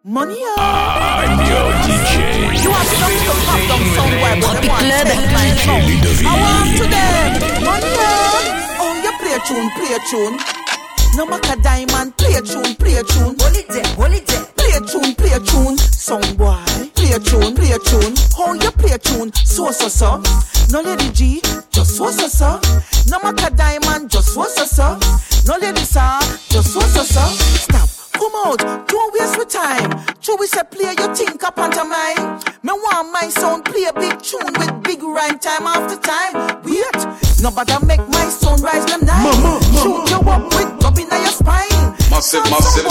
Money up. I'm your DJ. You have some to pop them somewhere, but they want to take my phone. I want to them. Money up. Oh, you play a tune. No matter diamond, play a tune. Hold it there. Play a tune. Song boy, play a tune. Oh, you play a tune. So. No lady G, just so. No matter diamond, just so. No lady sir, just so. Stop. Come out, don't waste my time. True, we say play your think up onto mine. Me want my sound play a big tune with big rhyme time after time. Wait, nobody make my sound rise them nine. Shoot you up with dub in your spine. Massive.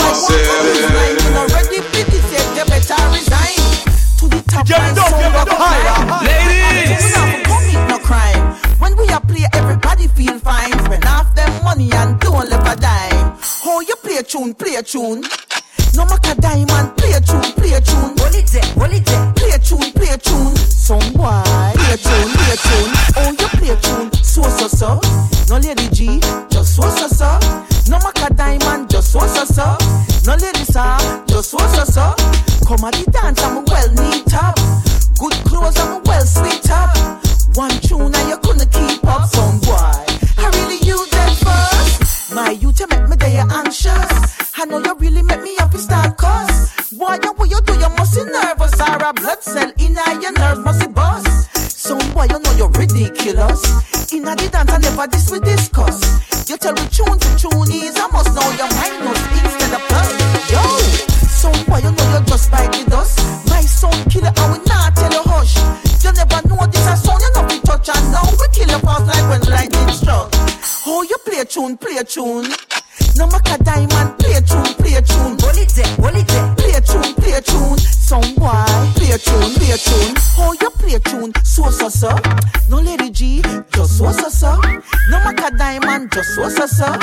You already big it, you better resign. To the top, my sound up higher. Ladies! We not commit no crime. When we are play, everybody feel fine. Spend half them money and don't leave a dime. Oh, you play a tune. No matter diamond, play a tune. Hold it there. Play a tune. Some boy, play a tune. Oh, you play a tune. So. No lady G, just so. No matter diamond, just so. No lady sir, just so. Come at the dance, I'm well neat up. Good clothes, I'm well sweet up. One tune and you couldn't keep up. Some boy, I really use them first. My youth, you make me there anxious. I know you really make me happy start cuss. Boy, what you do, you must be nervous. Or a blood cell in your nerves must be bust. Some boy, you know you're ridiculous. In a the dance, I never this we discuss. You tell me tune to tune is, I must know your minus instead of plus. Yo, some boy, you know you just bite the dust. My sound killer, I will not tell you hush. You never know this a sound, you know we touch. And now we kill your past like when lightning struck. Oh, you play a tune. No matter diamond, play a tune. Hold it there. Play a tune. Some boy, play a tune. Oh, you play a tune. So. No lady G, just so. No matter diamond, just so.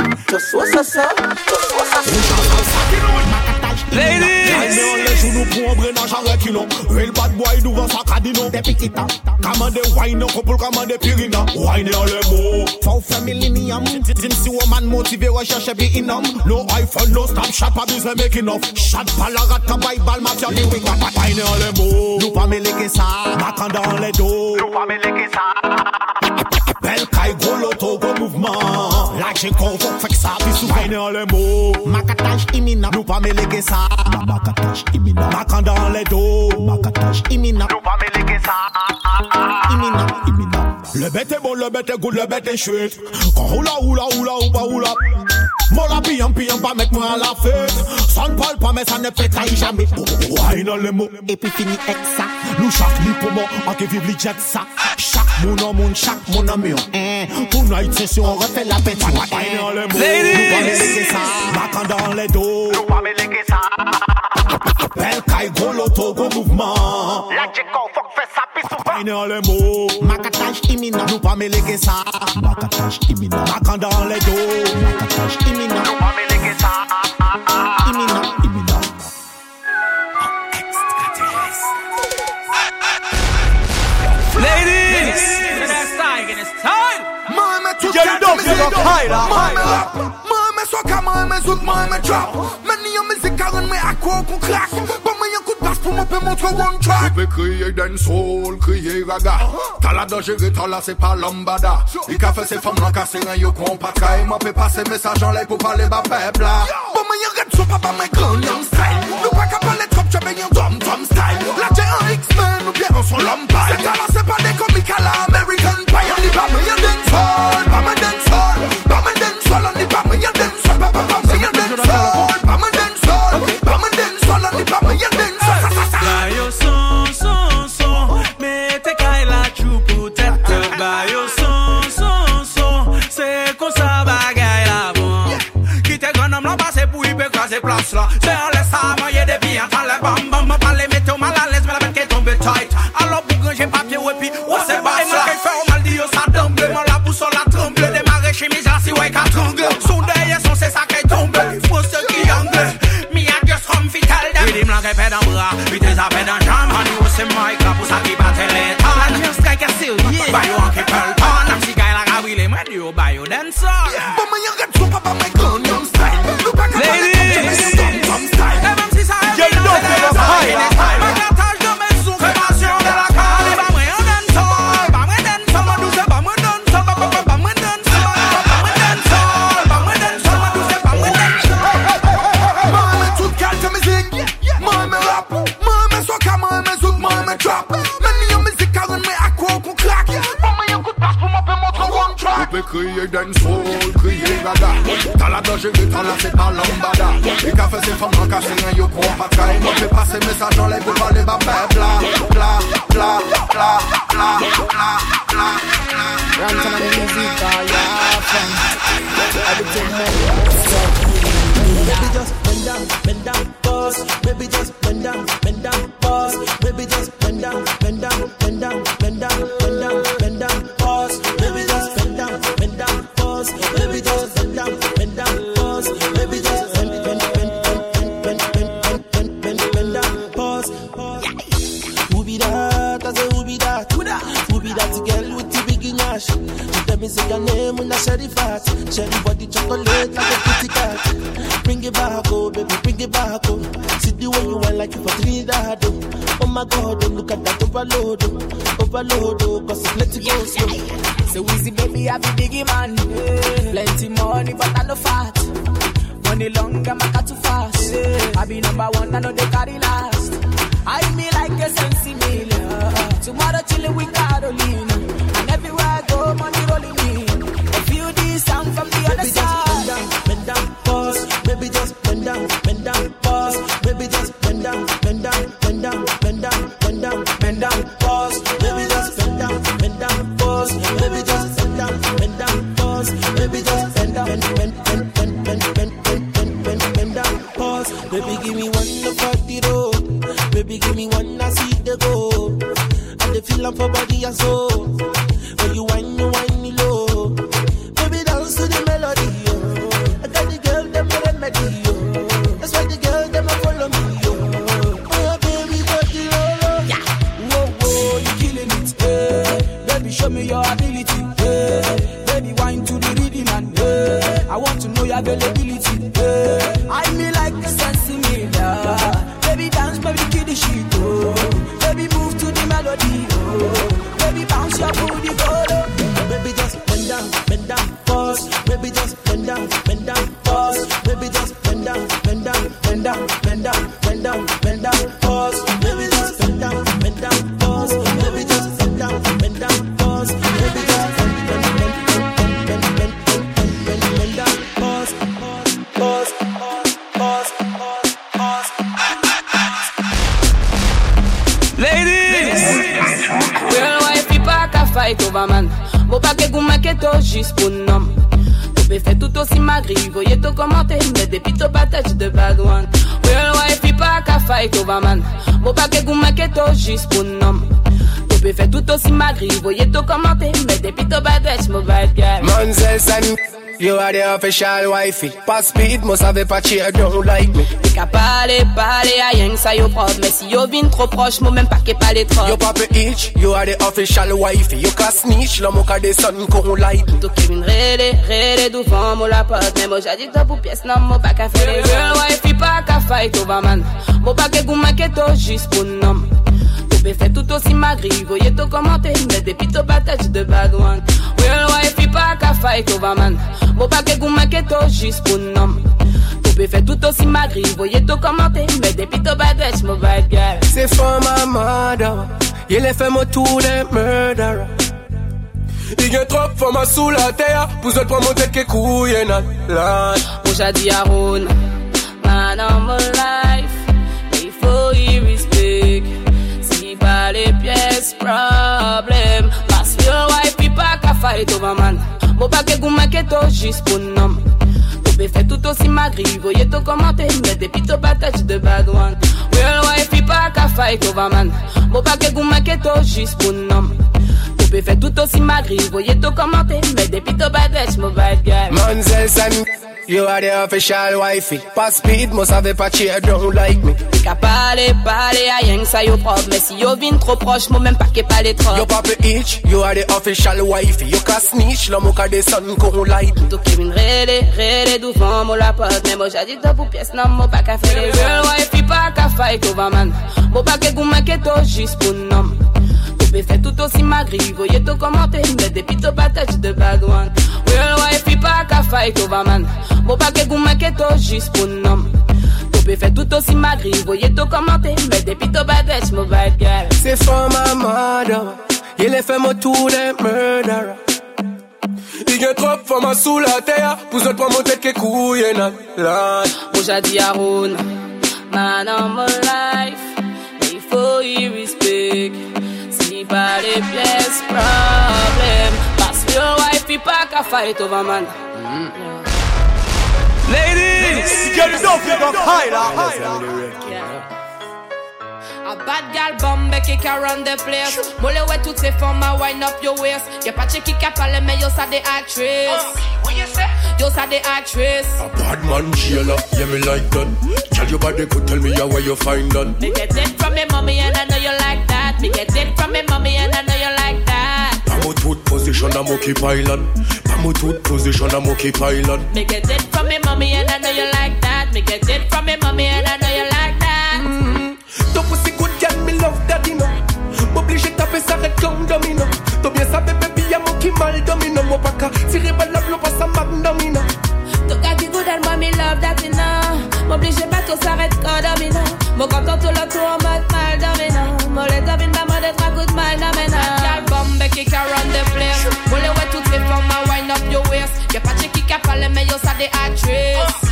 Ladies! Real bad boy devant sa cadino. Des piquita. Commande wine, couple commande pirina. Wine en le mot. For family millennium. Dim si woman motivé recherche be inum. No iPhone, no Snapchat, pas besoin making off. Chat palarat, kabay bal, match on the wing. Wine en le mot. Nous pas mêler ça. Macan dans les dos. Nous pas mêler ça. Bel caille, gros loto, gros mouvement. Like j'ai convoque, fait que ça, puis sous wine en le mot. Macatage imminent. Nous pas mêler ça. Macatage imminent. Macan dans les dos. Macatage imminent. Nous pas mêler ça. Imminent. Le bête est bon, le bête est good, le bête est chouette. Quand roula. Mon la pillant, pas mettre moi à la fête. Ça ne parle pas, mais ça ne fait trahir jamais. Wine dans le mot. Et puis fini avec ça. Nous chaque nuit pour moi, en que vive les jets ça. Chaque mon, chaque mon ami. Tonight session, on refait la pète. Wine dans le mot. Nous pas mêler ça. Macan dans les dos. Nous pas mêler ça. Bel caille, gros loto, gros mouvement. La Djeko, faut que fait ça, pis souvent. Wine dans le mot. Macatage imminent. Nous pas mêler ça. Macatage imminent. Macan dans les dos. Macatage imminent. Nous pas mêler ça. Imminent. Ladies! It's time. Mama took that Mama soca, mama zouk, mama drop. Many of music around me à quoi qu'on craque. Pas moyen coup de basse pour me montrer one track. Tu peux crier dancehall, crier raga. T'as la dangereux, t'as là c'est pas lambada. Il qu'a fait ces femmes là casser un yo qu'on pas trahi. Moi peut passer message en l'air pour parler bas peuple là. Pas moyen rap son papa my Gangnam style. Nous pas qu'à parler trop, tu veux un dom style. La j'ai un X-Men ou bien on son lampaille. C'est talent c'est pas des comiques à la American Pie. On dit pas moyen dancehall, pas ma dancehall. Pas ma dancehall, on dit pas moyen dancehall. Pas moyen dancehall, pas ma dancehall. Pas ma dancehall, on dit pas moyen dancehall. Bayo son, mettez qu'à la chou pour tête. Bayo son, c'est comme ça bagaille là bon. Qui te gagne là passer pour y pécraser place là. C'est en laisse à mailler des billes, entend les bam, pas les mettre mal à l'aise, mais la bête qui est tombée tight. Alors pour granger papier, ouais, puis, ouais, c'est pas ça. Et fait au mal dit, ça tombe, moi la boussole la tremble, démarrer chez mes assis, ouais, qu'à tremble. Sous derrière son, c'est ça qui tombe. Il faut ce qui angle. Me a just come fit tell them. With him like a ped en bras, with his apped en jam. And you see my club, pour ça qui bat les temps. And just like a seal, yeah. Buy you one keep her on. And she guy like a Willie, when you buy you then so. But me you get super by my Gangnam style. Look back at my style. Ladies! Gangnam style. Même si ça crier dancehall, crier gaga. T'as la danger, t'as la c'est pas lambada. Les cafés c'est femmes en cassé, yo qu'on pas caille. Moi fais passer message en l'air pour parler bas bla bla bla bla bla bla bla. Ransom and music, yeah, fun. Everything Baby just bend down, pause. Baby just bend down, pause. Baby just bend down, pause. Baby just bend down, pause. Baby just bend down, pause. Baby just bend down, pause. Who be that? I say who be that? Who be that girl with the big nash? She tell me say your name when I share the fat. Share the body chocolate like a kitty cat. Bring it back, oh baby, bring it back, oh. See the way you want like you for Trinidad, oh. Oh my God, oh, look at that overload, oh. Overload, oh, cause it's let it go slow. So easy, baby, I be biggie man. Plenty money, but I no fat. Money long, I'm not too fast. I be number one, I know they carry last. I be like a sensi meal. Tomorrow chillin' with Carolina. And everywhere I go, money rolling in. I feel this sound from the other side. Bend down, pause. Baby just bend down, pause. Baby just bend down, pause. Baby just bend down, pause. Baby just bend down, pause. Baby just bend down, pause. Baby give me one for the road. Baby give me one, I see the go. And the feeling for body and soul. When you whine me low. Baby dance to the melody, yo. I got the girl, them a remedy, yo. That's why the girl, them a follow me, yo. Oh, baby, got the low. Yeah. Whoa, whoa, you killing it, eh. Baby, show me your ability, eh. Baby, wine to the rhythm and, eh. I want to know your availability, eh. I me like the sensi meal, baby, dance, baby, kill the shit, oh. Baby, move to the melody, oh. Baby, bounce your booty, go low. Baby, just bend down, pause. Baby, just bend down, pause. Baby, just bend down, pause. Baby, just bend down, pause. Baby, just bend down, pause. Baby, just bend down, pause. Ladies! Real wife, pas qu'à fight over man. Bon pas que vous m'inquiétez juste pour nom. Tu peux faire tout aussi magri, voyez tout commenter, mais depuis tout patate de bad one. Real wife, pas qu'à fight over man. Bon pas que vous m'inquiétez juste pour nom. Tu peux faire tout aussi magri, voyez tout commenter, mais depuis tout patate, mon bad guy. Manzelson, you are the official wifey. Pas speed, moi savais pas cheer, don't like me. T'es qu'à parler, à rien que ça yo propre. Mais si yo vin trop proche, moi même pas qu'est pas les trop. Yo papa itch, you are the official wifey. You can snitch, la moka de son qu'on like. Tout qui vin rélé devant moi la pote. Mais moi j'ai dit top ou pièce, non moi pas qu'à faire les real wife, pas qu'à fight over man. Moi pas que vous m'inquiétez juste pour nom. Tu peux faire tout aussi magri, voyez tout commenter, mais depuis tout patate de bad one. Real wife, pas qu'à fight over man. Moi pas que vous m'inquiétez juste pour nom. Tu peux faire tout aussi magri, voyez tout commenter, mais depuis tout patate, mon bad guy. C'est for my mother. Il est fait moi tout les murderer. Il y a trop for ma sous la terre. Pour autres pour monter que couille nan land. Moi j'ai dit à Ron, man on my life, il faut y respect. Si pas les pièces, problème. Parce que your wife, il pas qu'à fight over man. Moi pas que vous m'inquiétez juste pour nom. Tu peux faire tout aussi magri, voyez tout commenter, mais depuis tout patate de bad one. Real wife, il pas qu'à fight over man. Moi pas que vous m'inquiétez juste pour nom. Tu peux faire tout aussi magri, voyez tout commenter, mais depuis tout patate, mon bad guy. Manzelson, you are the official wifey. Pas speed, moi savais pas cheer, don't like me. T'es qu'à parler, à rien que ça yo propre. Mais si yo vin trop proche, moi même pas qu'est pas les trop. Yo papa itch, you are the official wifey. You can snitch, la moka de son qu'on like. Tout qui vin rélé devant moi la pote. Mais moi j'ai dit top ou pièce, non moi pas qu'à faire les real wife, pas qu'à fight over man. Moi pas que vous m'inquiétez juste pour nom. Tu peux faire tout aussi magri, voyez tout commenter, mais depuis tout patate de bad one. Real wife, pas qu'à fight over man. Moi pas que vous m'inquiétez juste pour nom. Tu peux faire tout aussi magri, voyez tout commenter, mais depuis tout patate, mon bad guy. C'est for my mother. Il est fait moi tout les murderer. Il y a trop de femmes sous la terre, pour autres pour monter que couille nan. Moi j'ai dit à Ron, man on my life, mais il faut y respect. Si pas les pièces, problème. Parce que your wife il pas qu'à fight over man. Ladies, get it off, you got high. A bad gal bombe qui can run the place. Mole ouais toutes ces femmes à wind up your waist. Y'a pas de qui a parlé mais yo ça des actrices. What you say? Yo ça des actrices. A bad man Sheila, yeah me like that. Tell your body could tell me where you find that. Me get it from me mommy and I know you like that. Me get it from me mommy and I know you like that. Pamo tooth position I'm okay pilot. Pamo tooth position I'm okay pilot. Me get it from me mommy and I know you like that. Me get it from me mommy and I know you like that. Ton pussy good girl, me love daddy no. M'oblige taper ça red comme domino. T'as bien sabe baby y'a mon qui mal domino. Mon pas qu'à tirer balle la pas ça mag domino. Ton gars qui good and moi me love daddy no. M'oblige pas tout ça red comme domino. Mon content tout le tour en mode mal domino. Mon les domine pas mode être à good mal domino. Gal bombe qui can run the place. Mon les ouais toutes les femmes à wind up your waist. Y'a pas de qui a parlé mais yo ça des actrices.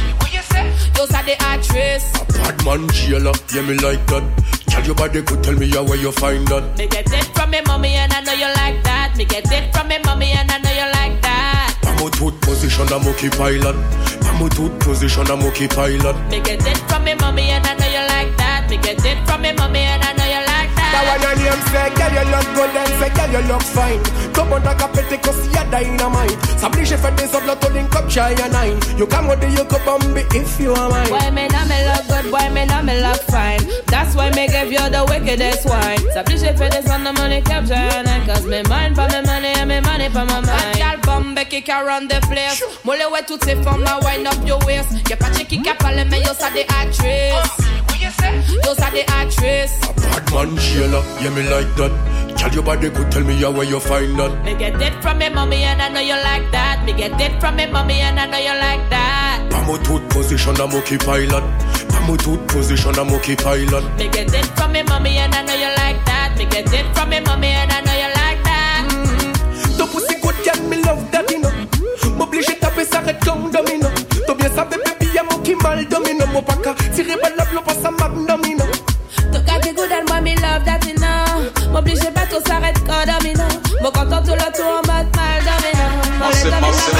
Yo ça des actrices. A bad man Sheila, yeah me like that. Tell your body could tell me where you find that. Me get it from me mommy and I know you like that. Me get it from me mommy and I know you like that. Pamo tooth position I'm okay pilot. Pamo tooth position I'm okay pilot. Me get it from me mommy and I know you like that. Me get it from me mommy and I know you like that. That one your name say, girl you look good and say, girl you look fine. Come on, like a petty cause you're dynamite. S'oblige fait des autres to link up shy and nine. You come with the you could bomb if you are mine. Why me not me look good, why me not me look fine. That's why me give you the wickedest wine. S'oblige fait des autres money capture and nine. Cause me mind for me money and me money for my mind. Gal bombe qui can run the place. Mole ouais toutes ces femmes à wind up your waist. Y'a pas de qui a parlé mais yo ça des actrices. Yo ça des actrices. A bad man Sheila, yeah me like that. Tell your body could tell me where you find that. Me get it from me mommy and I know you like that. Me get it from me mommy and I know you like that. Pamo tooth position I'm okay pilot. Pamo tooth position I'm okay pilot. Me get it from me mommy and I know you like that. Me get it from me mommy and I know you like that. Ton pussy good girl, me love daddy no. M'oblige taper ça red comme domino. T'as bien sabe baby y'a mon qui mal domino. Mon pas qu'à tirer balle la pas ça mag domino. Ton gars qui good and moi me love daddy no. M'oblige pas tout ça red comme domino. Mon content tout le tour en mode mal domino. Massive.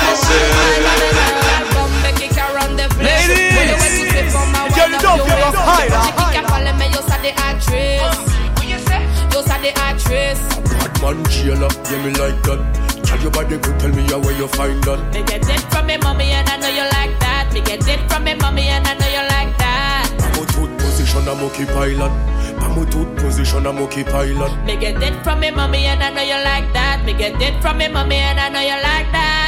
Bombe qui can run the place. Ladies, get it off, you got high. Qui a parlé mais yo ça des actrices. Yo ça des actrices. Bad man Sheila, yeah me like that. Tell your body could tell me where you find that. Me get it from me mommy and I know you like that. Me get it from me mommy and I know you like that. Pamo tooth position I'm okay pilot. Pamo tooth position I'm okay pilot. Me get it from me mommy and I know you like that. Me get it from me mommy and I know you like that.